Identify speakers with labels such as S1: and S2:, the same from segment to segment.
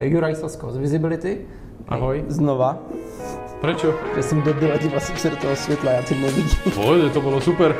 S1: Juraj Sasko z Visibility.
S2: Ahoj.
S1: Znova.
S2: Prečo?
S1: Že jsem debil a díval jsem se do toho světla, já tě nevidím.
S2: Pojde, to bylo super.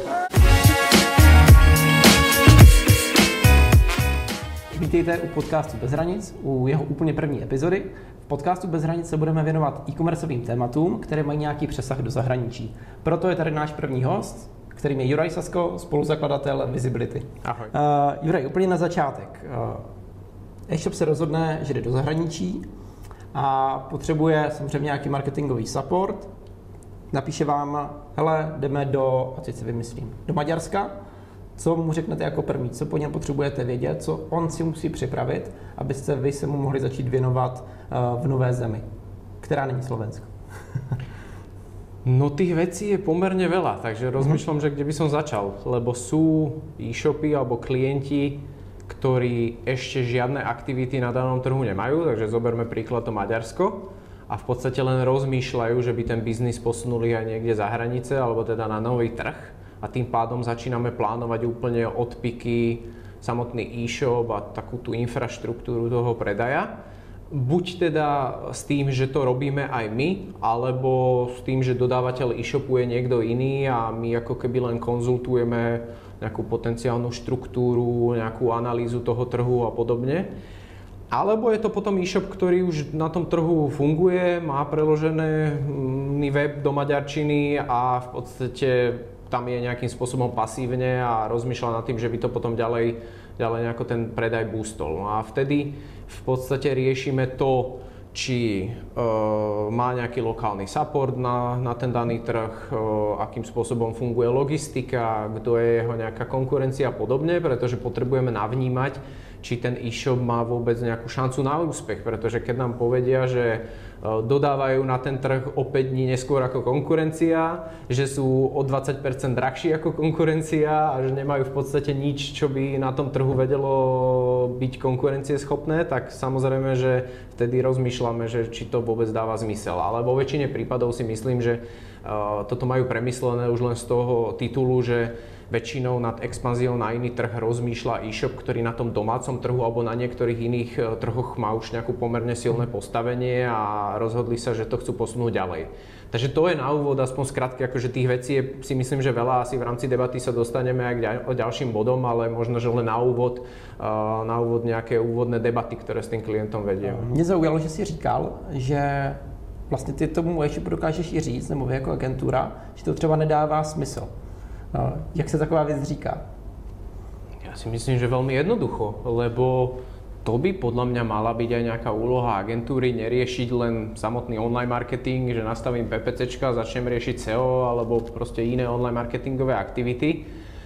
S1: Vítejte u podcastu Bez hranic, u jeho úplně první epizody. V podcastu Bez hranic se budeme věnovat e-commerceovým tématům, které mají nějaký přesah do zahraničí. Proto je tady náš první host, kterým je Juraj Sasko, spoluzakladatel Visibility.
S2: Ahoj.
S1: Juraj, úplně na začátek. E-shop se rozhodne, že jde do zahraničí a potřebuje samozřejmě nějaký marketingový support. Napíše vám, hele, jdeme do, a teď si vymyslím, do Maďarska. Co mu řeknete jako první, co po něm potřebujete vědět, co on si musí připravit, abyste vy se mu mohli začít věnovat v nové zemi, která není Slovensko.
S2: No tých vecí je pomerne veľa, takže rozmýšľam, že kde by som začal, lebo sú e-shopy alebo klienti, ktorí ešte žiadne aktivity na danom trhu nemajú, takže zoberme príklad to Maďarsko a v podstate len rozmýšľajú, že by ten biznis posunuli aj niekde za hranice alebo teda na nový trh a tým pádom začíname plánovať úplne odpiky, samotný e-shop a takú tú infraštruktúru toho predaja. Buď teda s tým, že to robíme aj my, alebo s tým, že dodávateľ e-shopu je niekto iný a my ako keby len konzultujeme nejakú potenciálnu štruktúru, nejakú analýzu toho trhu a podobne. Alebo je to potom e-shop, ktorý už na tom trhu funguje, má preložený web do maďarčiny a v podstate tam je nejakým spôsobom pasívne a rozmýšľa nad tým, že by to potom ďalej nejako ten predaj boostol. No a vtedy v podstate riešime to, či má nejaký lokálny support na ten daný trh, akým spôsobom funguje logistika, kto je jeho nejaká konkurencia a podobne, pretože potrebujeme navnímať, či ten e-shop má vôbec nejakú šancu na úspech, pretože keď nám povedia, že dodávajú na ten trh o 5 dní neskôr ako konkurencia, že sú o 20% drahší ako konkurencia a že nemajú v podstate nič, čo by na tom trhu vedelo byť konkurencieschopné, tak samozrejme, že vtedy rozmýšľame, že či to vôbec dáva zmysel. Ale vo väčšine prípadov si myslím, že toto majú premyslené už len z toho titulu, že väčšinou nad expanziou na iný trh rozmýšľa e-shop, ktorý na tom domácom trhu alebo na niektorých iných trhoch má už nejakú pomerne silné postavenie a rozhodli sa, že to chcú posunúť ďalej. Takže to je na úvod, aspoň skrátke, akože tých vecí je, si myslím, že veľa, asi v rámci debaty sa dostaneme aj k ďalším bodom, ale možno, že len na úvod nejaké úvodné debaty, ktoré s tým klientom vediem.
S1: Mě zaujalo, že si říkal, že vlastně ty tomu e-shopu dokážeš i říct, nebo vy jako agentura, že to třeba nedává smysl. Jak sa taková vec říká?
S2: Ja si myslím, že veľmi jednoducho, lebo to by podľa mňa mala byť aj nejaká úloha agentúry, neriešiť len samotný online marketing, že nastavím PPCčka, začnem riešiť SEO alebo proste iné online marketingové aktivity,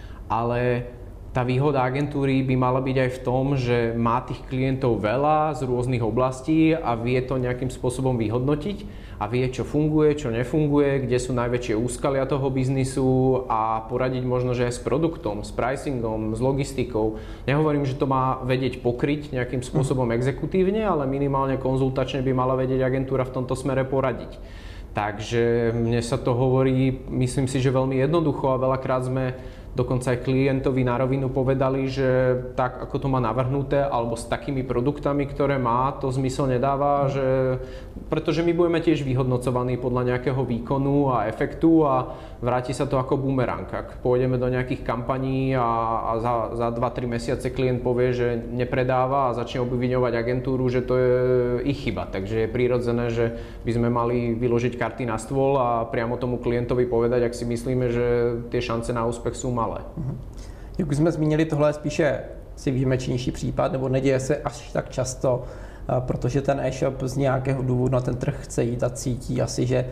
S2: ale tá výhoda agentúry by mala byť aj v tom, že má tých klientov veľa z rôznych oblastí a vie to nejakým spôsobom vyhodnotiť a vie, čo funguje, čo nefunguje, kde sú najväčšie úskalia toho biznisu a poradiť možno, že aj s produktom, s pricingom, s logistikou. Nehovorím, že to má vedieť pokryť nejakým spôsobom exekutívne, ale minimálne konzultačne by mala vedieť agentúra v tomto smere poradiť. Takže mne sa to hovorí, myslím si, že veľmi jednoducho a veľakrát sme dokonca aj klientovi na rovinu povedali, že tak, ako to má navrhnuté, alebo s takými produktami, ktoré má, to zmysel nedáva, pretože my budeme tiež vyhodnocovaní podľa nejakého výkonu a efektu a vráti sa to ako bumerang. Ak pôjdeme do nejakých kampaní a za 2-3 mesiace klient povie, že nepredáva a začne obviňovať agentúru, že to je ich chyba. Takže je prirodzené, že by sme mali vyložiť karty na stôl a priamo tomu klientovi povedať, ak si myslíme, že tie šance na úspech sú malé.
S1: Jak už jsme zmínili, tohle je spíše si výjimečnější případ, nebo neděje se až tak často, protože ten e-shop z nějakého důvodu na ten trh chce jít a cítí asi, že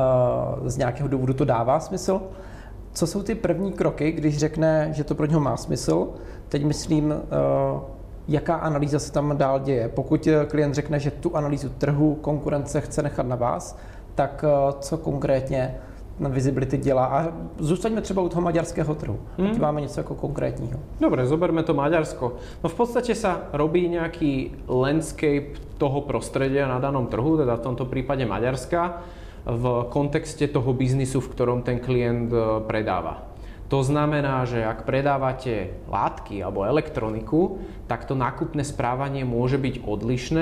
S1: z nějakého důvodu to dává smysl. Co jsou ty první kroky, když řekne, že to pro něho má smysl? Teď myslím, jaká analýza se tam dál děje. Pokud klient řekne, že tu analýzu trhu, konkurence chce nechat na vás, tak co konkrétně Visibility dělá. A zůstaňme třeba u toho maďarského trhu. Ať máme něco jako konkrétního.
S2: Dobre, zoberme to Maďarsko. No v podstate sa robí nejaký landscape toho prostredia na danom trhu, teda v tomto prípade Maďarska, v kontexte toho biznisu, v ktorom ten klient predáva. To znamená, že ak predávate látky alebo elektroniku, tak to nákupné správanie môže byť odlišné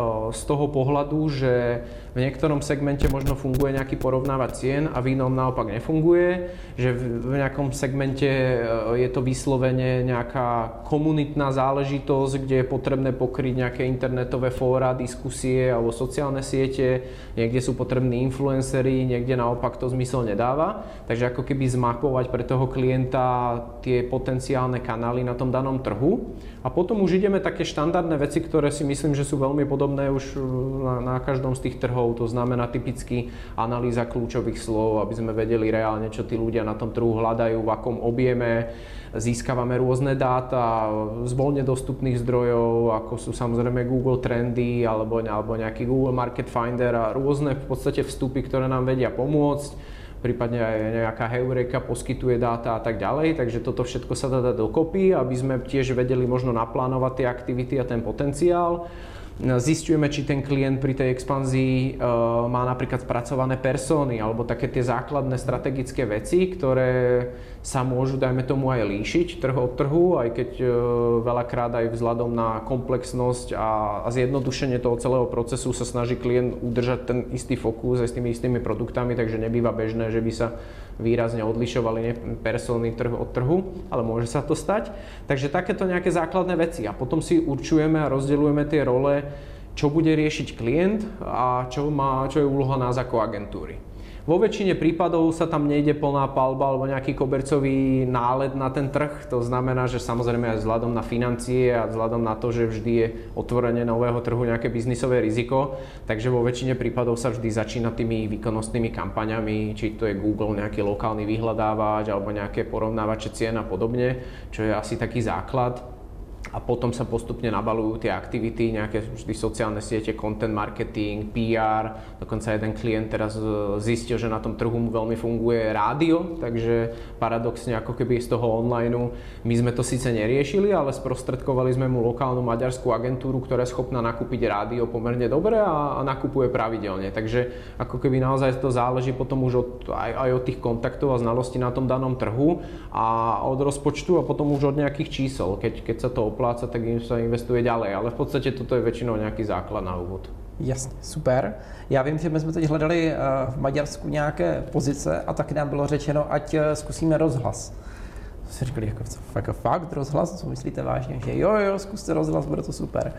S2: z toho pohľadu, že v niektorom segmente možno funguje nejaký porovnávať cien a v inom naopak nefunguje, že v nejakom segmente je to vyslovene nejaká komunitná záležitosť, kde je potrebné pokryť nejaké internetové fóra, diskusie alebo sociálne siete, niekde sú potrební influenceri, niekde naopak to zmysel nedáva. Takže ako keby zmapovať pre toho klienta tie potenciálne kanály na tom danom trhu. A potom už ideme také štandardné veci, ktoré si myslím, že sú veľmi podobné už na každom z tých trhov. To znamená typicky analýza kľúčových slov, aby sme vedeli reálne, čo tí ľudia na tom trhu hľadajú, v akom objeme. Získavame rôzne dáta z voľne dostupných zdrojov, ako sú samozrejme Google Trendy alebo nejaký Google Market Finder a rôzne v podstate vstupy, ktoré nám vedia pomôcť. Prípadne aj nejaká Heureka poskytuje dáta a tak ďalej, takže toto všetko sa dá dokopy, aby sme tiež vedeli možno naplánovať tie aktivity a ten potenciál. Zisťujeme, či ten klient pri tej expanzii má napríklad spracované persóny alebo také tie základné strategické veci, ktoré sa môžu, dajme tomu, aj líšiť trh od trhu, aj keď veľakrát aj vzhľadom na komplexnosť a zjednodušenie toho celého procesu sa snaží klient udržať ten istý fokus aj s tými istými produktami, takže nebýva bežné, že by sa výrazne odlišovali persóny trh od trhu, ale môže sa to stať. Takže takéto nejaké základné veci a potom si určujeme a rozdeľujeme tie role, čo bude riešiť klient a čo je úloha nás ako agentúry. Vo väčšine prípadov sa tam nejde plná palba alebo nejaký kobercový nálet na ten trh. To znamená, že samozrejme aj vzhľadom na financie a vzhľadom na to, že vždy je otvorenie nového trhu nejaké biznisové riziko. Takže vo väčšine prípadov sa vždy začína tými výkonnostnými kampaňami, či to je Google, nejaký lokálny vyhľadávač alebo nejaké porovnávače cien a podobne, čo je asi taký základ. A potom sa postupne nabalujú tie aktivity, nejaké vždy sociálne siete, content marketing, PR. Dokonca jeden klient teraz zistil, že na tom trhu mu veľmi funguje rádio, takže paradoxne ako keby z toho onlineu my sme to síce neriešili, ale sprostredkovali sme mu lokálnu maďarskú agentúru, ktorá je schopná nakúpiť rádio pomerne dobre a nakupuje pravidelne. Takže ako keby naozaj to záleží potom už aj od tých kontaktov a znalostí na tom danom trhu a od rozpočtu a potom už od nejakých čísel, keď sa to opláca, tak im sa investuje ďalej, ale v podstate toto je väčšinou nějaký základ na úvod.
S1: Jasně, super. Já vím, že my jsme teď hledali v Maďarsku nějaké pozice a taky nám bylo řečeno, ať zkusíme rozhlas. Si říkali, jako fakt rozhlas, co myslíte vážně? Že jo, zkuste rozhlas, bude to super.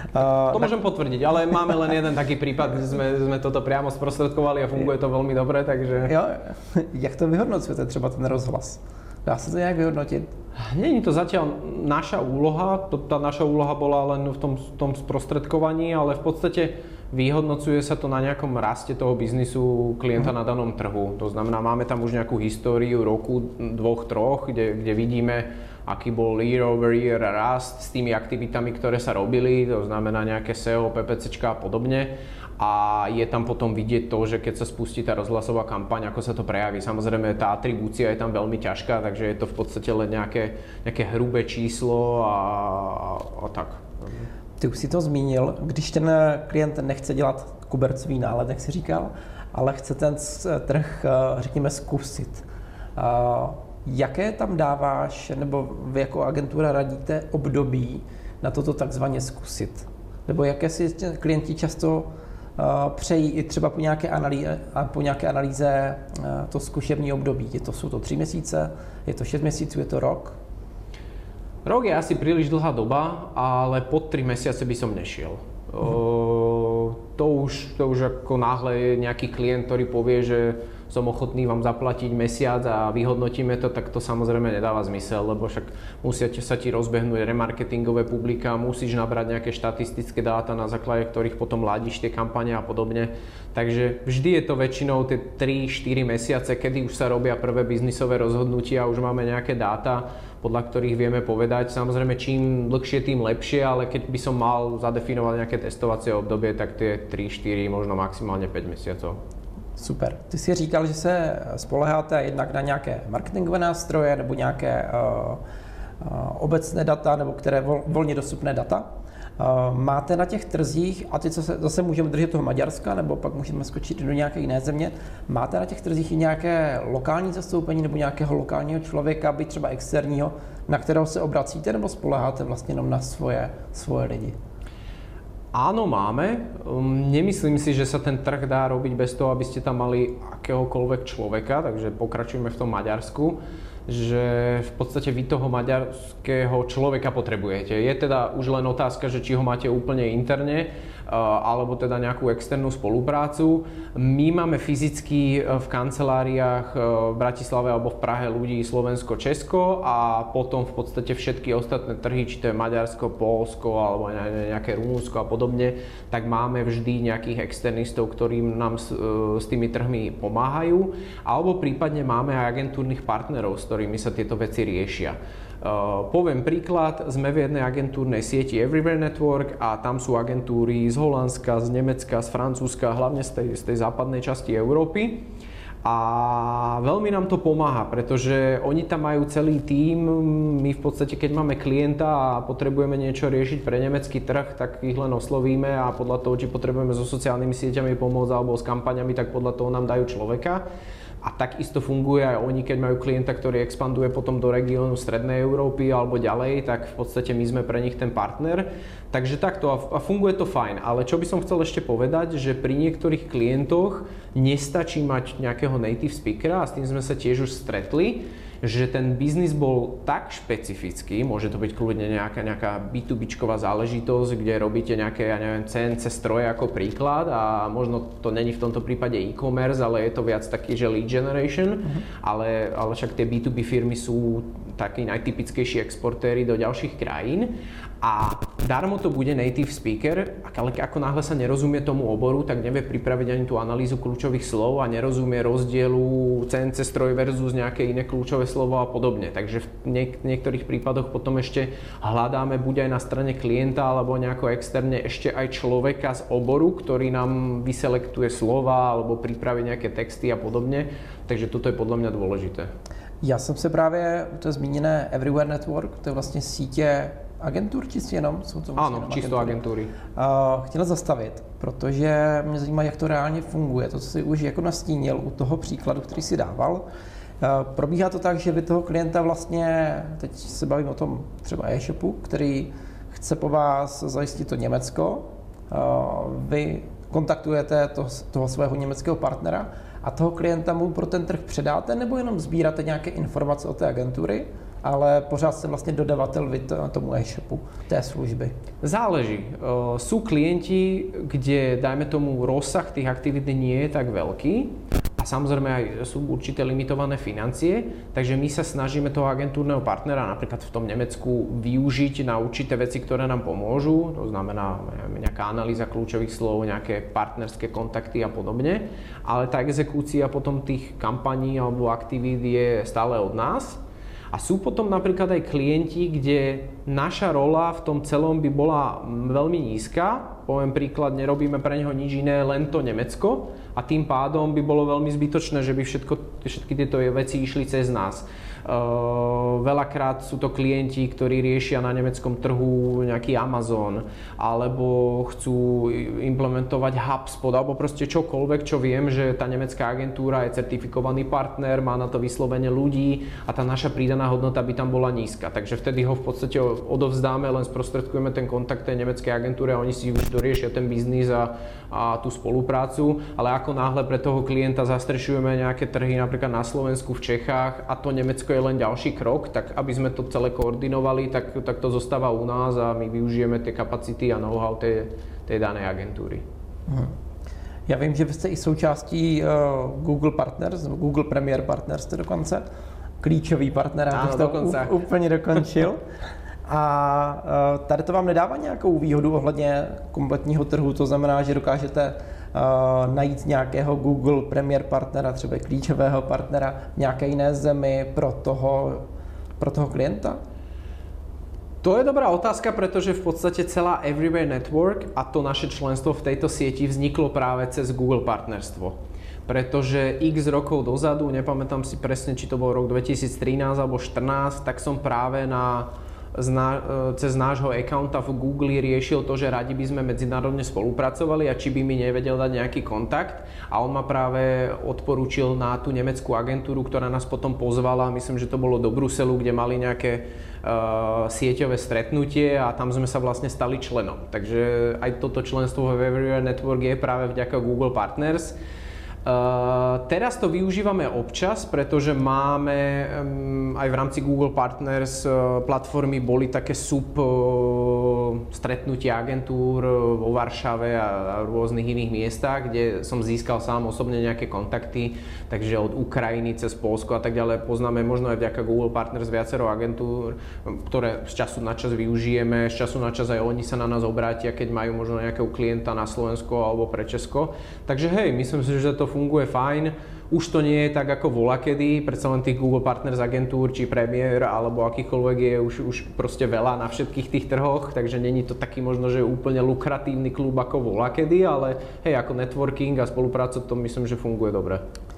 S2: To môžem potvrdiť, ale máme len jeden taký prípad, kde sme toto priamo sprostredkovali a funguje to veľmi dobre, takže...
S1: Jo, jak to vyhodnocujete třeba ten rozhlas? Dá sa to nejak vyhodnotiť?
S2: Není to zatiaľ naša úloha, tá naša úloha bola len v tom sprostredkovaní, ale v podstate vyhodnocuje sa to na nejakom raste toho biznisu klienta na danom trhu. To znamená, máme tam už nejakú históriu roku, 2-3, kde vidíme, aký bol year over year rast s tými aktivitami, ktoré sa robili, to znamená nejaké SEO, PPCčka a podobne. A je tam potom vidieť to, že keď sa spustí tá rozhlasová kampaň, ako sa to prejaví. Samozrejme, tá atribúcia je tam veľmi ťažká, takže je to v podstate len nejaké hrubé číslo a tak.
S1: Ty už si to zmínil, když ten klient nechce dělat kobercový nálet, jak si říkal, ale chce ten trh, řekněme, zkusit. Jaké tam dáváš, nebo vy jako agentura radíte období na toto takzvaně zkusit? Nebo jaké si klienti často přejí i třeba po nějaké analýze to zkušební období? Jsou to 3 měsíce, je to 6 měsíců, je to rok?
S2: Rok je asi príliš dlhá doba, ale pod 3 mesiace by som nešiel. To už ako náhle je nejaký klient, ktorý povie, že som ochotný vám zaplatiť mesiac a vyhodnotíme to, tak to samozrejme nedáva zmysel, lebo však musia sa ti rozbehnúť remarketingové publika, musíš nabrať nejaké štatistické dáta, na základe ktorých potom ladíš tie kampane a podobne. Takže vždy je to väčšinou tie 3-4 mesiace, kedy už sa robia prvé biznisové rozhodnutia, už máme nejaké dáta, podľa ktorých vieme povedať. Samozrejme, čím dlhšie, tým lepšie, ale keď by som mal zadefinovať nejaké testovacie obdobie, tak tie 3-4, možno maximálne 5 mesiacov.
S1: Super. Ty si říkal, že se spoléháte jednak na nějaké marketingové nástroje nebo nějaké obecné data nebo které volně dostupné data. Máte na těch trzích, a teď zase můžeme držet toho Maďarska, nebo pak můžeme skočit do nějaké jiné země, máte na těch trzích i nějaké lokální zastoupení nebo nějakého lokálního člověka, byť třeba externího, na kterého se obracíte, nebo spoléháte vlastně jenom na svoje lidi?
S2: Áno, máme. Nemyslím si, že sa ten trh dá robiť bez toho, aby ste tam mali akéhokoľvek človeka, takže pokračujeme v tom Maďarsku, že v podstate vy toho maďarského človeka potrebujete. Je teda už len otázka, že či ho máte úplne interne, alebo teda nejakú externú spoluprácu. My máme fyzicky v kanceláriách v Bratislave alebo v Prahe ľudí Slovensko, Česko a potom v podstate všetky ostatné trhy, či to je Maďarsko, Poľsko alebo nejaké Rumunsko a podobne, tak máme vždy nejakých externistov, ktorí nám s tými trhmi pomáhajú, alebo prípadne máme aj agentúrnych partnerov, s ktorými sa tieto veci riešia. Poviem príklad, sme v jednej agentúrnej sieti Everywhere Network a tam sú agentúry z Holandska, z Nemecka, z Francúzska, hlavne z tej západnej časti Európy. A veľmi nám to pomáha, pretože oni tam majú celý tím. My v podstate, keď máme klienta a potrebujeme niečo riešiť pre nemecký trh, tak ich len oslovíme a podľa toho, či potrebujeme so sociálnymi sieťami pomôcť alebo s kampaňami, tak podľa toho nám dajú človeka. A takisto funguje aj oni, keď majú klienta, ktorý expanduje potom do regiónu Strednej Európy alebo ďalej, tak v podstate my sme pre nich ten partner. Takže takto a funguje to fajn. Ale čo by som chcel ešte povedať, že pri niektorých klientoch nestačí mať nejakého native speakera a s tým sme sa tiež už stretli, že ten biznis bol tak špecifický, môže to byť kľudne nejaká B2Bčková záležitosť, kde robíte nejaké, ja neviem, CNC stroje ako príklad a možno to není v tomto prípade e-commerce, ale je to viac taký, že lead generation, ale však tie B2B firmy sú takí najtypickejší exportéri do ďalších krajín a darmo to bude native speaker, ale ako náhle sa nerozumie tomu oboru, tak nevie pripraviť ani tú analýzu kľúčových slov a nerozumie rozdielu CNC stroj versus nejaké iné kľúčové slovo a podobne. Takže v niektorých prípadoch potom ešte hľadáme buď aj na strane klienta alebo nejako externe ešte aj človeka z oboru, ktorý nám vyselektuje slova alebo pripraví nejaké texty a podobne. Takže toto je podľa mňa dôležité.
S1: Já jsem se právě u té zmíněné Everywhere Network, to je vlastně sítě agentur, čistě jenom? Jsou to
S2: Áno, čisto agentúry.
S1: Chtěla zastavit, protože mě zajímá, jak to reálně funguje. To, co jsi už jako nastínil u toho příkladu, který si dával. Probíhá to tak, že vy toho klienta vlastně, teď se bavím o tom třeba e-shopu, který chce po vás zajistit to Německo. Vy kontaktujete toho svého německého partnera a toho klienta mu pro ten trh předáte, nebo jenom sbíráte nějaké informace od té agentury, ale pořád ste vlastne dodavateľ vy tomu e-shopu, té služby? Záleží.
S2: Sú klienti, kde, dajme tomu, rozsah tých aktivít nie je tak veľký a samozrejme aj sú určité limitované financie, takže my sa snažíme toho agentúrneho partnera napríklad v tom Nemecku využiť na určité veci, ktoré nám pomôžu, to znamená nejaká analýza kľúčových slov, nejaké partnerské kontakty a podobne, ale tá exekúcia potom tých kampaní alebo aktivít je stále od nás. A sú potom napríklad aj klienti, kde naša rola v tom celom by bola veľmi nízka. Poviem príklad, nerobíme pre neho nič iné, len to Nemecko a tým pádom by bolo veľmi zbytočné, že by všetky tieto veci išli cez nás. Veľakrát sú to klienti, ktorí riešia na nemeckom trhu nejaký Amazon alebo chcú implementovať HubSpot alebo proste čokoľvek, čo viem, že tá nemecká agentúra je certifikovaný partner, má na to vyslovene ľudí a tá naša pridaná hodnota by tam bola nízka. Takže vtedy ho v podstate odovzdáme, len sprostredkujeme ten kontakt tej nemeckej agentúre a oni si už doriešia ten biznis a tú spoluprácu, ale ako náhle pre toho klienta zastrešujeme nejaké trhy napríklad na Slovensku, v Čechách a to Nemecko je len ďalší krok, tak aby sme to celé koordinovali, tak to zostáva u nás a my využijeme tie kapacity a know-how tej danej agentúry.
S1: Já vím, že vy jste i součástí Google Partners, Google Premier Partners jste dokonce, klíčový partner, abych to úplně dokončil. A tady to vám nedává nějakou výhodu ohledně kompletního trhu, to znamená, že dokážete najít nějakého Google Premier partnera, třeba klíčového partnera v nějaké jiné zemi pro toho klienta?
S2: To je dobrá otázka, pretože v podstate celá Everywhere Network a to naše členstvo v tejto sieti vzniklo práve cez Google partnerstvo. Pretože x rokov dozadu, nepamätám si presne, či to bol rok 2013 alebo 2014, tak som práve na cez nášho accounta v Google riešil to, že radi by sme medzinárodne spolupracovali a či by mi nevedel dať nejaký kontakt. A on ma práve odporúčil na tú nemeckú agentúru, ktorá nás potom pozvala, myslím, že to bolo do Bruselu, kde mali nejaké sieťové stretnutie a tam sme sa vlastne stali členom. Takže aj toto členstvo v Everywhere Network je práve vďaka Google Partners. Teraz to využívame občas, pretože máme aj v rámci Google Partners platformy boli také stretnutia agentúr vo Varšave a rôznych iných miestach, kde som získal sám osobne nejaké kontakty, takže od Ukrajiny cez Poľsko a tak ďalej poznáme možno aj vďaka Google Partners viacero agentúr, ktoré z času na čas využijeme, z času na čas aj oni sa na nás obrátia, keď majú možno nejakého klienta na Slovensko alebo pre Česko. Takže hej, myslím si, že to funguje fajn. Už to nie je tak ako volakedy, predsa len tých Google Partners agentúr, či Premier, alebo akýchkoľvek je už proste veľa na všetkých tých trhoch, takže není to taký možno, že úplne lukratívny klub ako volakedy, ale hej, ako networking a spolupráca to myslím, že funguje dobre.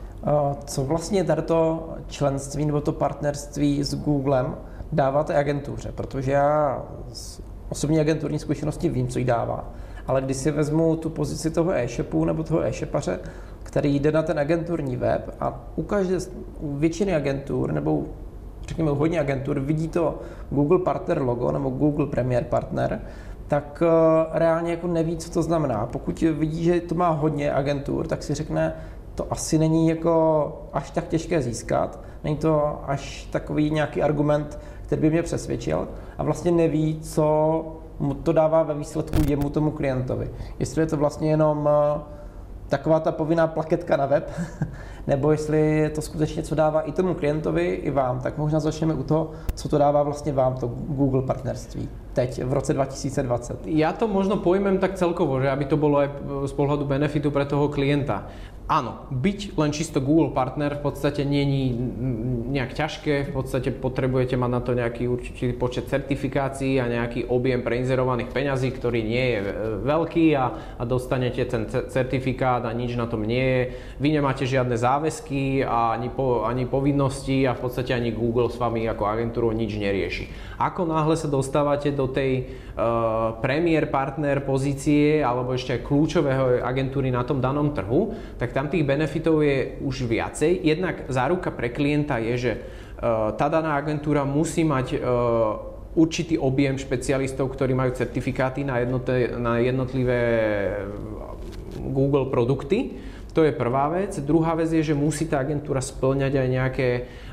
S1: Co vlastně to členství nebo to partnerství s Googlem dává té agentuře? Protože já z osobní agenturní zkušenosti vím, co jí dává. Ale když si vezmu tu pozici toho e-shopu nebo toho e-shopaře, který jde na ten agenturní web a u většiny agentur nebo řekněme u hodně agentur vidí to Google Partner logo nebo Google Premier Partner, tak reálně jako neví, co to znamená. Pokud vidí, že to má hodně agentur, tak si řekne, to asi není jako až tak těžké získat, není to až takový nějaký argument, který by mě přesvědčil a vlastně neví, co mu to dává ve výsledku jemu tomu klientovi. Jestli je to vlastně jenom taková ta povinná plaketka na web, nebo jestli je to skutečně, co dává i tomu klientovi, i vám, tak možná začneme u toho, co to dává vlastně vám, to Google partnerství, teď v roce 2020.
S2: Ja to možno pojmem tak celkovo, že aby to bolo aj z pohľadu benefitu pre toho klienta. Áno, byť len čisto Google partner v podstate nie je nejak ťažké, v podstate potrebujete mať na to nejaký určitý počet certifikácií a nejaký objem preinzerovaných peňazí, ktorý nie je veľký a dostanete ten certifikát a nič na tom nie je. Vy nemáte žiadne záväzky a ani povinnosti a v podstate ani Google s vami ako agentúrou nič nerieši. Ako náhle sa dostávate do tej premier partner pozície alebo ešte aj kľúčového agentúry na tom danom trhu, tak tam tých benefitov je už viacej. Jednak záruka pre klienta je, že tá daná agentúra musí mať určitý objem špecialistov, ktorí majú certifikáty na jednotlivé Google produkty. To je prvá vec. Druhá vec je, že musí tá agentúra spĺňať aj nejaké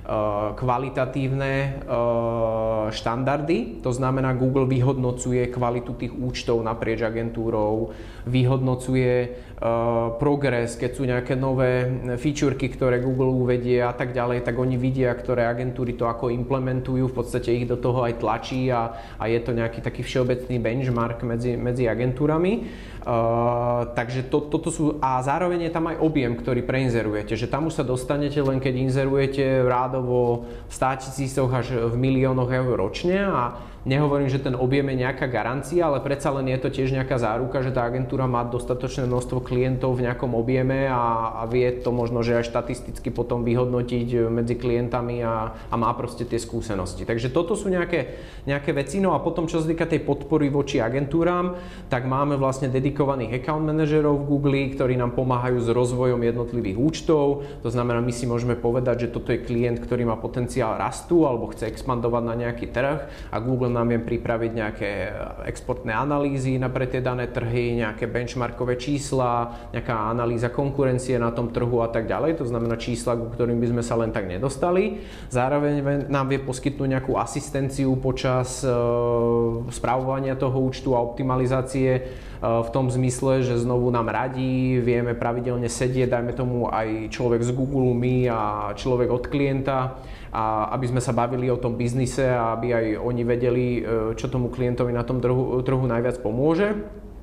S2: kvalitatívne štandardy. To znamená, Google vyhodnocuje kvalitu tých účtov naprieč agentúrou, vyhodnocuje progres, keď sú nejaké nové featureky, ktoré Google uvedie a tak ďalej, tak oni vidia, ktoré agentúry to ako implementujú, v podstate ich do toho aj tlačí a je to nejaký taký všeobecný benchmark medzi agentúrami. Takže toto sú, a zároveň je tam aj objem, ktorý preinzerujete, že tam už sa dostanete len keď inzerujete rádovo v 100 000 až v miliónoch eur ročne a nehovorím, že ten objem je nejaká garancia, ale predsa len je to tiež nejaká záruka, že tá agentúra má dostatočné množstvo klientov v nejakom objeme a vie to možno, že aj štatisticky potom vyhodnotiť medzi klientami a má proste tie skúsenosti. Takže toto sú nejaké veci. No a potom, čo sa týka tej podpory voči agentúram, tak máme vlastne dedikovaných account manažerov v Google, ktorí nám pomáhajú s rozvojom jednotlivých účtov. To znamená, my si môžeme povedať, že toto je klient, ktorý má potenciál rastu alebo chce expandovať na nejaký trh a Google nám viem pripraviť nejaké exportné analýzy pre tie dané trhy, nejaké benchmarkové čísla, nejaká analýza konkurencie na tom trhu a tak ďalej. To znamená čísla, ku ktorým by sme sa len tak nedostali. Zároveň nám vie poskytnúť nejakú asistenciu počas spravovania toho účtu a optimalizácie v tom zmysle, že znovu nám radí, vieme pravidelne sedieť, dajme tomu aj človek z Google My a človek od klienta, a aby sme sa bavili o tom biznise a aby aj oni vedeli, čo tomu klientovi na tom trhu najviac pomôže.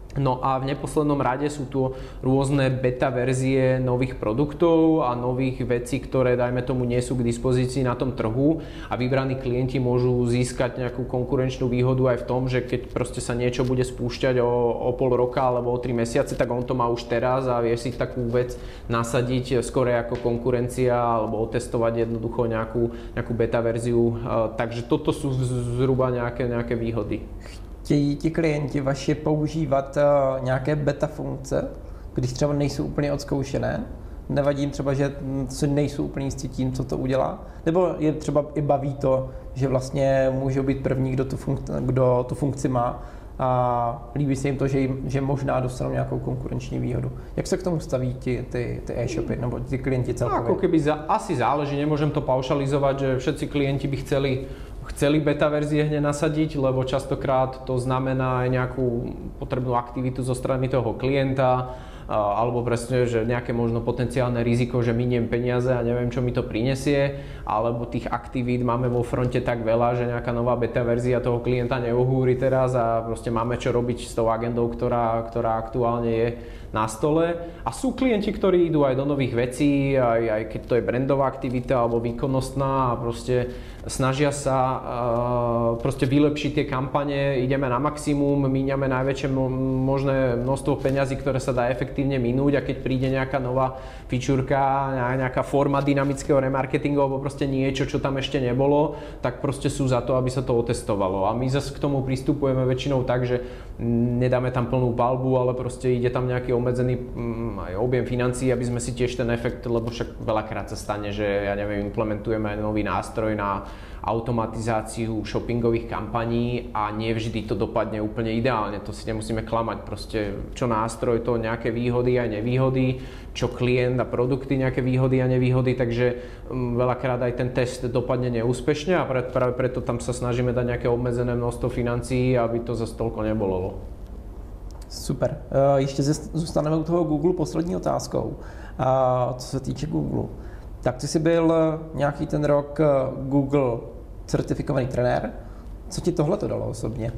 S2: No a v neposlednom rade sú tu rôzne beta verzie nových produktov a nových vecí, ktoré, dajme tomu, nie sú k dispozícii na tom trhu a vybraní klienti môžu získať nejakú konkurenčnú výhodu aj v tom, že keď proste sa niečo bude spúšťať o pol roka alebo o 3 mesiace, tak on to má už teraz a vie si takú vec nasadiť skôr ako konkurencia alebo otestovať jednoducho nejakú beta verziu. Takže toto sú zhruba nejaké výhody.
S1: Chtějí ti klienti vaši používat nějaké beta funkce, když třeba nejsou úplně odzkoušené? Nevadí jim třeba, že si nejsou úplně jistí tím, co to udělá? Nebo je třeba i baví to, že vlastně můžou být první, kdo tu funkci má a líbí se jim to, že možná dostanou nějakou konkurenční výhodu. Jak se k tomu staví ty e-shopy nebo ti klienti celkově?
S2: Ako keby asi záleží, nemôžem to paušalizovať, že všetci klienti by chceli beta verzie hneď nasadiť, lebo častokrát to znamená aj nejakú potrebnú aktivitu zo strany toho klienta, alebo presne, že nejaké možno potenciálne riziko, že miniem peniaze a neviem, čo mi to prinesie, alebo tých aktivít máme vo fronte tak veľa, že nejaká nová beta verzia toho klienta neuhúri teraz a proste máme čo robiť s tou agendou, ktorá aktuálne je na stole. A sú klienti, ktorí idú aj do nových vecí, aj keď to je brandová aktivita alebo výkonnostná a proste snažia sa proste vylepšiť tie kampane, ideme na maximum, míňame najväčšie možné množstvo peňazí, ktoré sa dá efektívne minúť a keď príde nejaká nová fičúrka, nejaká forma dynamického remarketingu alebo proste niečo, čo tam ešte nebolo, tak proste sú za to, aby sa to otestovalo. A my zase k tomu pristupujeme väčšinou tak, že nedáme tam plnú palbu, ale proste ide tam nejaký obmedzený aj objem financií, aby sme si tiež ten efekt, lebo však veľakrát sa stane, že ja neviem, implementujeme aj nový nástroj na automatizáciu shoppingových kampaní a nevždy to dopadne úplne ideálne, to si nemusíme klamať, proste čo nástroj, to nejaké výhody aj nevýhody, čo klient a produkty nejaké výhody a nevýhody, takže veľakrát aj ten test dopadne neúspešne a práve preto tam sa snažíme dať nejaké obmedzené množstvo financií, aby to zase toľko nebolo.
S1: Super. Ještě zůstaneme u toho Google poslední otázkou. Co se týče Google, tak ty jsi byl nějaký ten rok Google certifikovaný trenér. Co ti tohle to dalo osobně?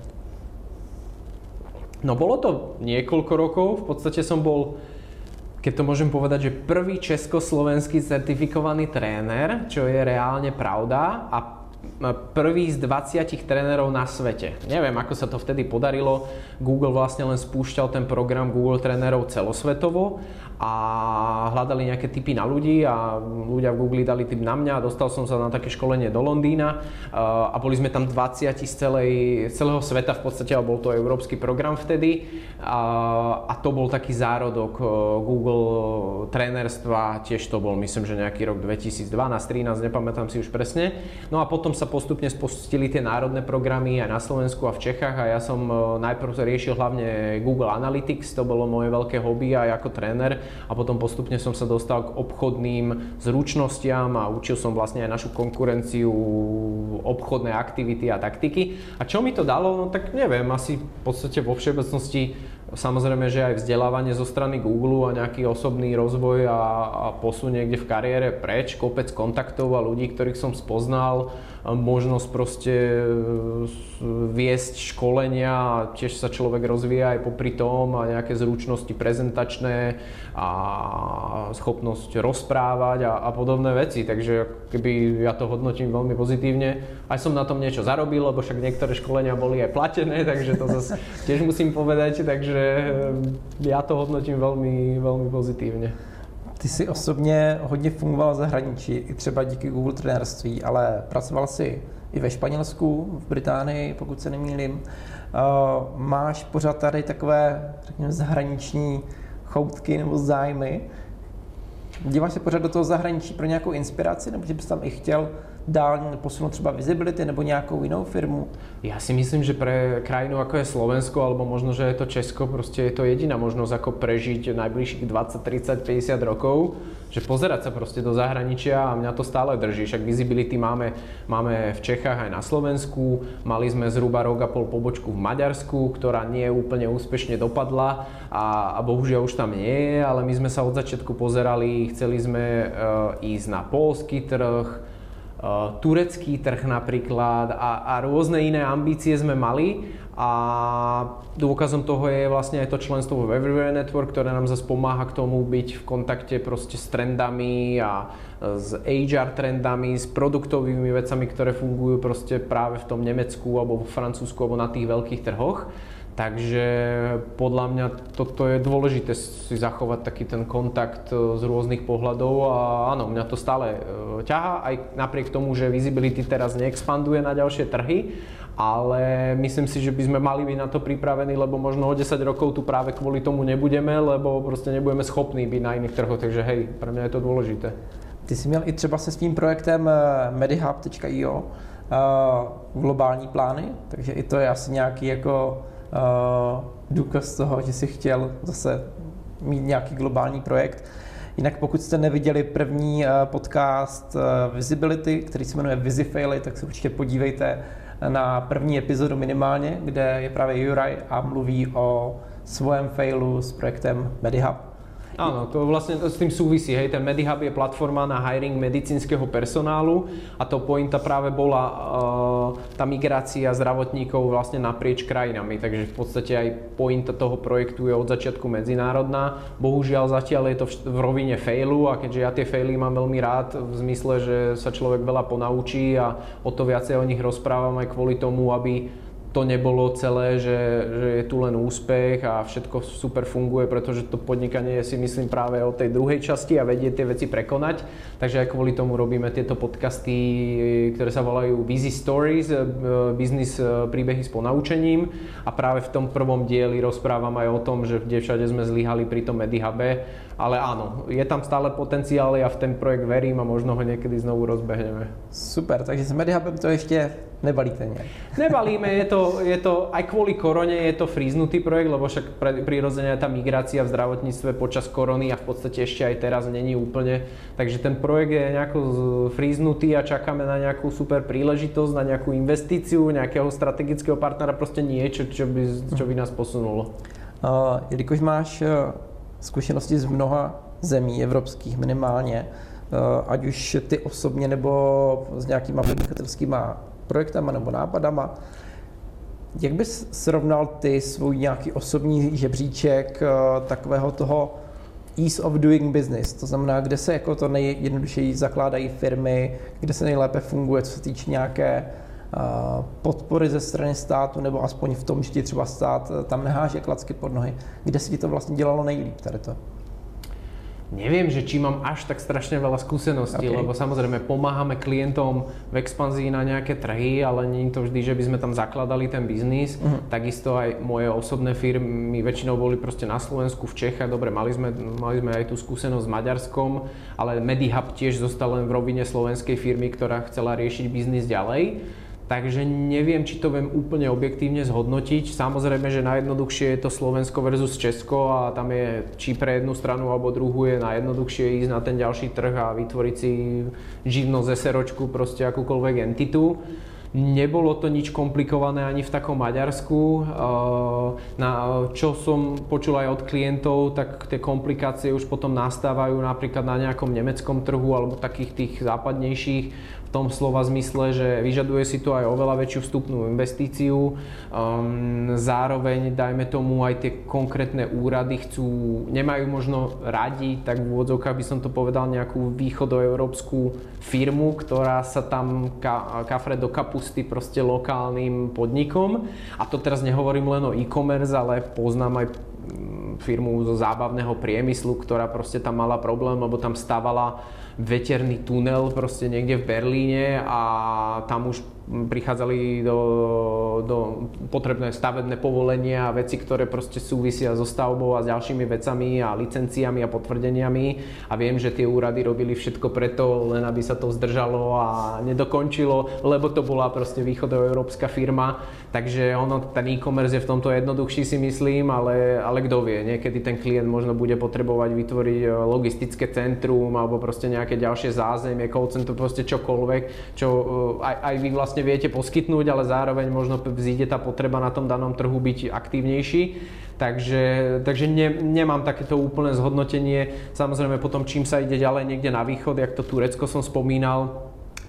S2: No bolo to niekoľko rokov. V podstate som bol, keď to môžem povedať, že prvý československý certifikovaný tréner, čo je reálne pravda, a prvý z 20 trénerov na svete. Neviem, ako sa to vtedy podarilo. Google vlastne len spúšťal ten program Google trénerov celosvetovo a hľadali nejaké tipy na ľudí a ľudia v Google dali tip na mňa a dostal som sa na také školenie do Londýna a boli sme tam 20 z celého sveta v podstate, a bol to európsky program vtedy a to bol taký zárodok Google trénerstva, tiež to bol myslím, že nejaký rok 2012-13, nepamätám si už presne. No a potom sa postupne spustili tie národné programy aj na Slovensku a v Čechách a ja som najprv riešil hlavne Google Analytics, to bolo moje veľké hobby aj ako tréner a potom postupne som sa dostal k obchodným zručnostiam a učil som vlastne aj našu konkurenciu obchodné aktivity a taktiky. A čo mi to dalo? No tak neviem, asi v podstate vo všeobecnosti samozrejme, že aj vzdelávanie zo strany Google a nejaký osobný rozvoj a posun niekde v kariére preč, kopec kontaktov a ľudí, ktorých som spoznal, možnosť proste viesť školenia a tiež sa človek rozvíja aj popri tom a nejaké zručnosti prezentačné a schopnosť rozprávať a podobné veci, takže keby ja to hodnotím veľmi pozitívne. Aj som na tom niečo zarobil, lebo však niektoré školenia boli aj platené, takže to zase tiež musím povedať, takže ja to hodnotím veľmi, veľmi pozitívne.
S1: Ty jsi osobně hodně fungoval v zahraničí, i třeba díky Google trenérství, ale pracoval jsi i ve Španělsku, v Británii, pokud se nemýlím. Máš pořád tady takové, řekněme, zahraniční choutky nebo zájmy? Díváš se pořád do toho zahraničí pro nějakou inspiraci, nebo že bys tam i chtěl dál posunout třeba visibility nebo nějakou jinou firmu?
S2: Ja si myslím, že pre krajinu ako je Slovensko, alebo možno, že je to Česko, proste je to jediná možnosť, ako prežiť najbližších 20, 30, 50 rokov, že pozerať sa proste do zahraničia a mňa to stále drží. Však visibility máme v Čechách aj na Slovensku, mali sme zhruba rok a pol pobočku v Maďarsku, ktorá nie úplne úspešne dopadla a bohužiaľ už tam nie je, ale my sme sa od začiatku pozerali, chceli sme ísť na poľský trh, turecký trh napríklad a rôzne iné ambície sme mali a dôkazom toho je vlastne aj to členstvo v Everywhere Network, ktoré nám zase pomáha k tomu byť v kontakte proste s trendami a s HR trendami, s produktovými vecami, ktoré fungujú proste práve v tom Nemecku alebo v Francúzsku alebo na tých veľkých trhoch. Takže podľa mňa toto je dôležité si zachovať taký ten kontakt z rôznych pohľadov a áno, mňa to stále ťahá, aj napriek tomu, že Visibility teraz neexpanduje na ďalšie trhy, ale myslím si, že by sme mali byť na to pripravení, lebo možno o 10 rokov tu práve kvôli tomu nebudeme, lebo proste nebudeme schopní byť na iných trhoch, takže hej, pre mňa je to dôležité.
S1: Ty jsi měl i třeba se svým projektem medihub.io globální plány, takže i to je asi nějaký jako důkaz toho, že si chtěl zase mít nějaký globální projekt. Jinak pokud jste neviděli první podcast Visibility, který se jmenuje Visifaily, tak se určitě podívejte na první epizodu minimálně, kde je právě Juraj a mluví o svém failu s projektem Medihub.
S2: Áno, to vlastne s tým súvisí, hej, ten Medihub je platforma na hiring medicínskeho personálu a to pointa práve bola tá migrácia zdravotníkov vlastne naprieč krajinami, takže v podstate aj pointa toho projektu je od začiatku medzinárodná. Bohužiaľ zatiaľ je to v rovine failu a keďže ja tie faily mám veľmi rád v zmysle, že sa človek veľa ponaučí a o to viacej o nich rozprávam aj kvôli tomu, aby to nebolo celé, že je tu len úspech a všetko super funguje, pretože to podnikanie je si myslím práve o tej druhej časti a vedie tie veci prekonať. Takže aj kvôli tomu robíme tieto podcasty, ktoré sa volajú Busy Stories, business príbehy s ponaučením a práve v tom prvom dieli rozprávam aj o tom, že kde všade sme zlyhali pri tom Medihube. Ale áno, je tam stále potenciál, ja v ten projekt verím a možno ho niekedy znovu rozbehneme.
S1: Super, takže s Medihubem to ešte nebalíte nejak?
S2: Nebalíme, je to aj kvôli korone je to fríznutý projekt, lebo však prirodzene tá migrácia v zdravotníctve počas korony a v podstate ešte aj teraz není úplne. Takže ten projekt je nejako fríznutý a čakáme na nejakú super príležitosť, na nejakú investíciu, nejakého strategického partnera, proste niečo, čo by nás posunulo.
S1: Jelikož máš zkušenosti z mnoha zemí evropských minimálně, ať už ty osobně nebo s nějakýma podnikatelskýma projektama nebo nápadama. Jak bys srovnal ty svůj nějaký osobní žebříček takového toho ease of doing business, to znamená, kde se jako to nejjednodušeji zakládají firmy, kde se nejlépe funguje, co se týče nějaké podpory ze strany státu, nebo aspoň v tom, že ti třeba stát tam neháže klacky pod nohy. Kde si ti to vlastně dělalo nejlíp tady to?
S2: Neviem, že či mám až tak strašne veľa skúseností, lebo samozrejme pomáhame klientom v expanzii na nejaké trhy, ale nie je to vždy, že by sme tam zakladali ten biznis. Takisto aj moje osobné firmy väčšinou boli proste na Slovensku, v Čechách. Dobre, mali sme aj tú skúsenosť s Maďarskom, ale Medihub tiež zostal len v rovine slovenskej firmy, ktorá chcela riešiť biznis ďalej. Takže neviem, či to viem úplne objektívne zhodnotiť. Samozrejme, že najjednoduchšie je to Slovensko versus Česko a tam je, či pre jednu stranu alebo druhú je najjednoduchšie ísť na ten ďalší trh a vytvoriť si živnosť SROčku, proste akúkoľvek entitu. Nebolo to nič komplikované ani v takom Maďarsku. Čo som počul aj od klientov, tak tie komplikácie už potom nastávajú napríklad na nejakom nemeckom trhu alebo takých tých západnejších, v tom slova zmysle, že vyžaduje si to aj oveľa väčšiu vstupnú investíciu. Zároveň, dajme tomu, aj tie konkrétne úrady nemajú možno radi, tak v úvodzovkách by som to povedal, nejakú východoeurópsku firmu, ktorá sa tam kafre do kapusty proste lokálnym podnikom. A to teraz nehovorím len o e-commerce, ale poznám aj firmu zo zábavného priemyslu, ktorá proste tam mala problém, lebo tam stávala veterný tunel proste niekde v Berlíne a tam už prichádzali do potrebné stavebné povolenia a veci, ktoré proste súvisia so stavbou a s ďalšími vecami a licenciami a potvrdeniami a viem, že tie úrady robili všetko preto, len aby sa to zdržalo a nedokončilo, lebo to bola proste východoeurópska firma, takže ten e-commerce je v tomto jednoduchší, si myslím, ale kto vie, niekedy ten klient možno bude potrebovať vytvoriť logistické centrum alebo proste nejaké ďalšie zázemie, call center, proste čokoľvek, čo aj vy vlastne viete poskytnúť, ale zároveň možno vzíde tá potreba na tom danom trhu byť aktívnejší. Takže nemám takéto úplné zhodnotenie. Samozrejme potom, čím sa ide ďalej niekde na východ, jak to Turecko som spomínal,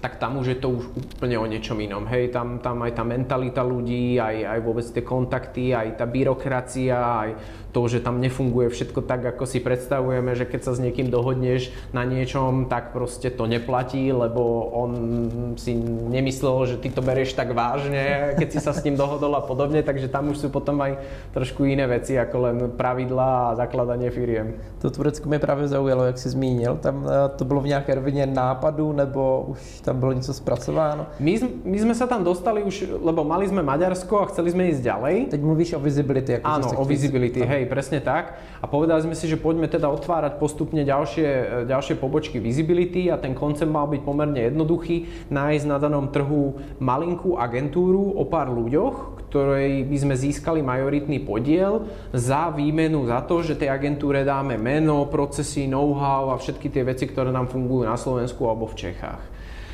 S2: tak tam už je to už úplne o niečom inom. Hej, tam aj tá mentalita ľudí, aj vôbec tie kontakty, aj tá byrokracia, aj to, že tam nefunguje všetko tak, ako si predstavujeme, že keď sa s niekým dohodneš na niečom, tak proste to neplatí, lebo on si nemyslel, že ty to berieš tak vážne, keď si sa s ním dohodol a podobne, takže tam už sú potom aj trošku iné veci, ako len pravidlá a zakladanie firiem.
S1: To Turecko mě právě zaujalo, jak jsi zmínil. Tam to bylo v nějaké rovině nápadu, nebo už tam bylo něco zpracováno?
S2: My sme sa tam dostali už, lebo mali sme Maďarsko a chceli sme ísť ďalej.
S1: Teď mluvíš o visibility. Ako
S2: áno, o visibility, hej, presne tak. A povedali sme si, že poďme teda otvárať postupne ďalšie pobočky visibility a ten koncept mal byť pomerne jednoduchý. Nájsť na danom trhu malinkú agentúru o pár ľuďoch, ktorej by sme získali majoritný podiel za výmenu za to, že tej agentúre dáme meno, procesy, know-how a všetky tie veci, ktoré nám fungujú na Slovensku alebo v Čechách.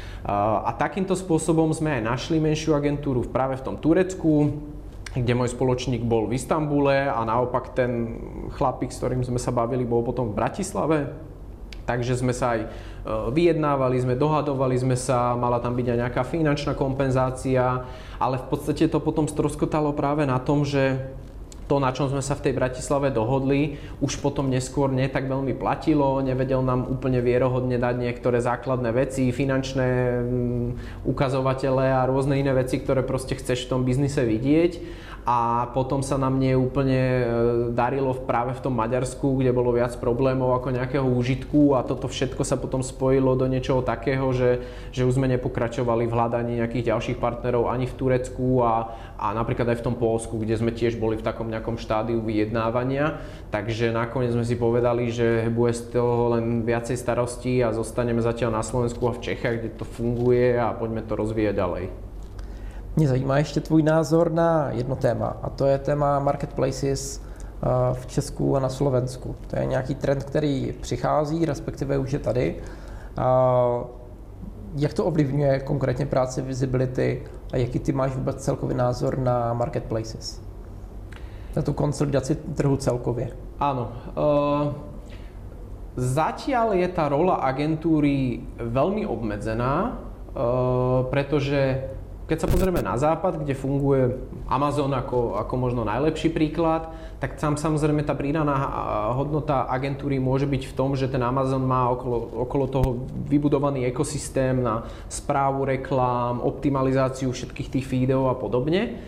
S2: A takýmto spôsobom sme aj našli menšiu agentúru práve v tom Turecku, kde môj spoločník bol v Istanbule a naopak ten chlapík, s ktorým sme sa bavili, bol potom v Bratislave. Takže sme sa aj vyjednávali, dohadovali sme sa, mala tam byť aj nejaká finančná kompenzácia, ale v podstate to potom stroskotalo práve na tom, že to, na čom sme sa v tej Bratislave dohodli, už potom neskôr nie tak veľmi platilo, nevedel nám úplne vierohodne dať niektoré základné veci, finančné ukazovatele a rôzne iné veci, ktoré proste chceš v tom biznise vidieť. A potom sa nám neúplne darilo práve v tom Maďarsku, kde bolo viac problémov ako nejakého úžitku a toto všetko sa potom spojilo do niečoho takého, že už sme nepokračovali v hľadaní nejakých ďalších partnerov ani v Turecku a napríklad aj v tom Poľsku, kde sme tiež boli v takom nejakom štádiu vyjednávania. Takže nakoniec sme si povedali, že bude z toho len viacej starostí a zostaneme zatiaľ na Slovensku a v Čechách, kde to funguje a poďme to rozvíjať ďalej.
S1: Mě zajímá ještě tvůj názor na jedno téma, a to je téma marketplaces v Česku a na Slovensku. To je nějaký trend, který přichází, respektive už je tady. Jak to ovlivňuje konkrétně práci visibility a jaký ty máš vůbec celkový názor na marketplaces? Na tu konsolidaci trhu celkově.
S2: Áno. Zatiaľ je tá rola agentúry veľmi obmedzená, pretože keď sa pozrieme na západ, kde funguje Amazon ako možno najlepší príklad, tak tam samozrejme tá pridaná hodnota agentúry môže byť v tom, že ten Amazon má okolo toho vybudovaný ekosystém na správu reklám, optimalizáciu všetkých tých feedov a podobne.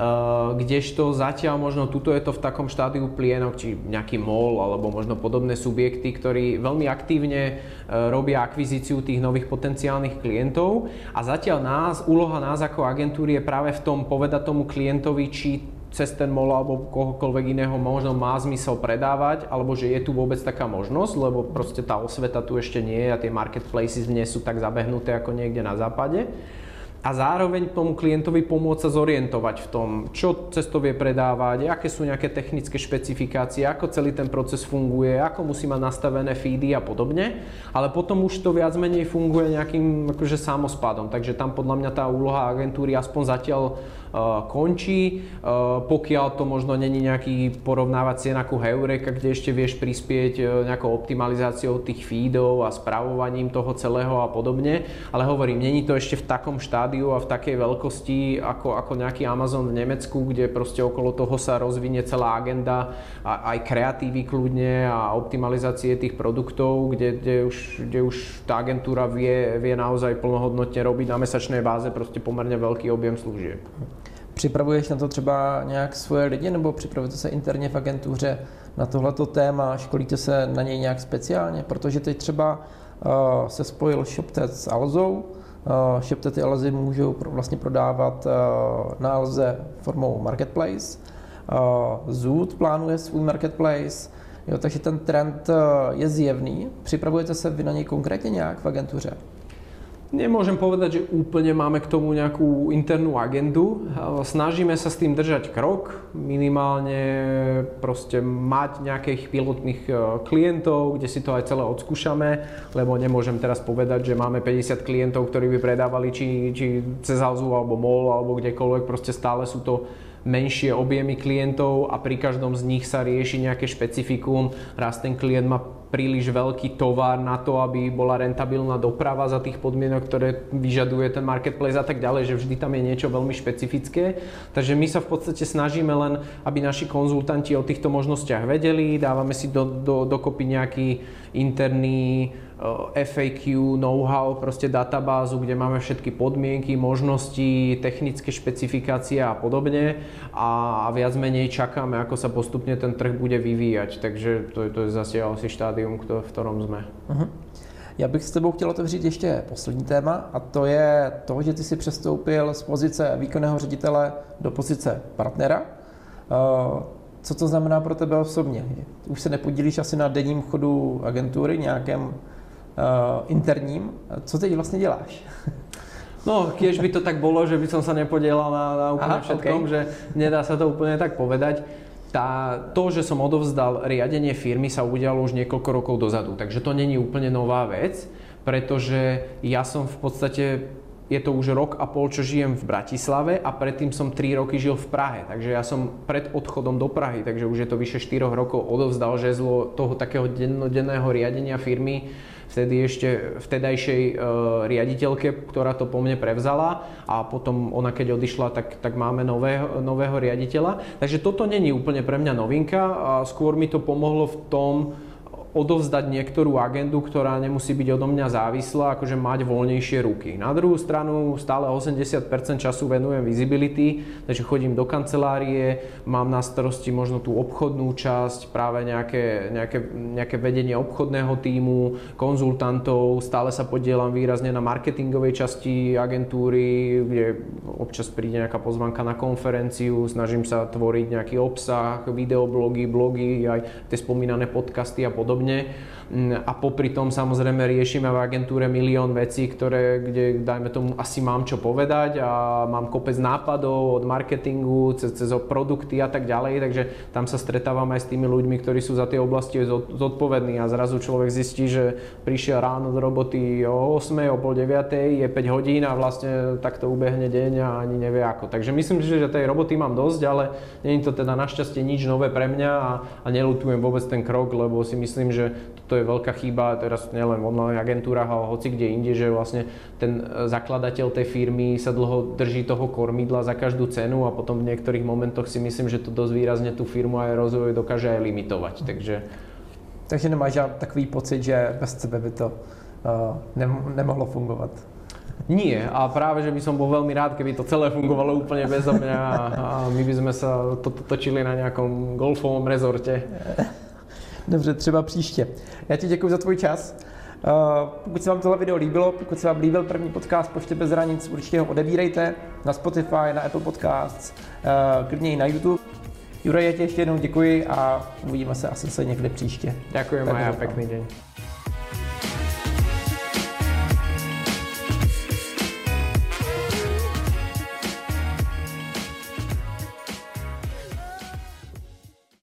S2: Kdežto zatiaľ možno tuto je to v takom štádiu plienok, či nejaký mall alebo možno podobné subjekty, ktorí veľmi aktívne robia akvizíciu tých nových potenciálnych klientov a zatiaľ úloha nás ako agentúry je práve v tom povedať tomu klientovi, či cez ten mall alebo kohokoľvek iného možno má zmysel predávať, alebo že je tu vôbec taká možnosť, lebo proste tá osveta tu ešte nie je a tie marketplaces nie sú tak zabehnuté ako niekde na západe. A zároveň tomu klientovi pomôcť sa zorientovať v tom, čo cez to vie predávať, aké sú nejaké technické špecifikácie, ako celý ten proces funguje, ako musí mať nastavené feedy a podobne. Ale potom už to viac menej funguje nejakým akože samospádom. Takže tam podľa mňa tá úloha agentúry aspoň zatiaľ končí, pokiaľ to možno není nejaký porovnávací cien ako Heureka, kde ešte vieš prispieť nejakou optimalizáciou tých feedov a spravovaním toho celého a podobne. Ale hovorím, není to ešte v takom štádiu a v takej veľkosti ako nejaký Amazon v Nemecku, kde proste okolo toho sa rozvinie celá agenda aj kreatívy kľudne a optimalizácie tých produktov, kde už tá agentúra vie naozaj plnohodnotne robiť na mesačnej báze proste pomerne veľký objem služieb.
S1: Připravuješ na to třeba nějak svoje lidi, nebo připravujete se interně v agentuře na tohleto téma, školíte se na něj nějak speciálně? Protože teď třeba se spojil ShopTet s Alzou. ShopTet i Alzy můžou vlastně prodávat na Alze formou marketplace. Zoot plánuje svůj marketplace, jo, takže ten trend je zjevný. Připravujete se vy na něj konkrétně nějak v agentuře?
S2: Nemôžem povedať, že úplne máme k tomu nejakú internú agendu. Snažíme sa s tým držať krok, minimálne proste mať nejakých pilotných klientov, kde si to aj celé odskúšame, lebo nemôžem teraz povedať, že máme 50 klientov, ktorí by predávali či cez Alzu alebo MOL alebo kdekoľvek, proste stále sú to menšie objemy klientov a pri každom z nich sa rieši nejaké špecifikum. Raz ten klient má príliš veľký tovar na to, aby bola rentabilná doprava za tých podmienok, ktoré vyžaduje ten marketplace a tak ďalej, že vždy tam je niečo veľmi špecifické. Takže my sa v podstate snažíme len, aby naši konzultanti o týchto možnostiach vedeli, dávame si dokopy nejaký interný FAQ, know-how, proste databázu, kde máme všetky podmienky, možnosti, technické špecifikácie a podobne a viac menej čakáme, ako sa postupne ten trh bude vyvíjať. Takže to je zase asi štádium, v ktorom sme.
S1: Já bych s tebou chtěl otevřít ještě poslední téma a to je to, že ty si přestoupil z pozice výkonného ředitele do pozice partnera. Co to znamená pro tebe osobně? Už se nepodílíš asi na denním chodu agentury, nějakém interním. Co teď vlastně děláš?
S2: No, keď by to tak bolo, že by som sa nepodielal na úplne všetkom, že nedá sa to úplne tak povedať. To, že som odovzdal riadenie firmy, sa udialo už niekoľko rokov dozadu, takže to není úplne nová vec, pretože ja som v podstate, je to už rok a pol, čo žijem v Bratislave a predtým som 3 roky žil v Prahe, takže ja som pred odchodom do Prahy, takže už je to vyše 4 rokov, odovzdal žezlo toho takého dennodenného riadenia firmy vtedy ešte vtedajšej riaditeľke, ktorá to po mne prevzala a potom ona keď odišla, tak máme nového riaditeľa. Takže toto není úplne pre mňa novinka a skôr mi to pomohlo v tom odovzdať niektorú agendu, ktorá nemusí byť odo mňa závislá, akože mať voľnejšie ruky. Na druhú stranu stále 80% času venujem visibility, takže chodím do kancelárie, mám na starosti možno tú obchodnú časť, práve nejaké vedenie obchodného tímu, konzultantov, stále sa podielam výrazne na marketingovej časti agentúry, kde občas príde nejaká pozvanka na konferenciu, snažím sa tvoriť nejaký obsah, videoblogy, blogy, aj tie spomínané podcasty a podobne. A popri tom samozrejme riešime v agentúre milión vecí, kde dajme tomu asi mám čo povedať a mám kopec nápadov od marketingu cez produkty a tak ďalej, takže tam sa stretávam aj s tými ľuďmi, ktorí sú za tie oblasti zodpovední a zrazu človek zistí, že prišiel ráno do roboty o 8, o pol 9, je 5 hodín a vlastne takto ubehne deň a ani nevie ako. Takže myslím, že tej roboty mám dosť, ale nie je to teda našťastie nič nové pre mňa a neľutujem vôbec ten krok, lebo si myslím, že toto je veľká chyba teraz nielen v online agentúrach, ale hoci kde inde, že vlastne ten zakladateľ tej firmy sa dlho drží toho kormidla za každú cenu a potom v niektorých momentoch si myslím, že to dosť výrazne tú firmu aj rozvoj dokáže aj limitovať. Takže
S1: nemáš takový pocit, že bez tebe by to nemohlo fungovat?
S2: Nie, a práve, že by som bol veľmi rád, keby to celé fungovalo úplne bezo mňa a my by sme sa točili na nejakom golfovom rezorte.
S1: Dobře, třeba příště. Já ti děkuji za tvůj čas. Pokud se vám tohle video líbilo, pokud se vám líbil první podcast Pošty bez hranic, určitě ho odebírejte na Spotify, na Apple Podcasts, klidně i na YouTube. Juraj, já ti ještě jednou děkuji a uvidíme se asi někdy příště.
S2: Ďakujem a pekný deň.